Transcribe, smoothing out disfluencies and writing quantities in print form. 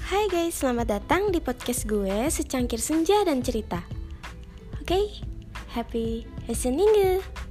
Hai guys, selamat datang di podcast gue Secangkir Senja dan Cerita. Oke, happy listening.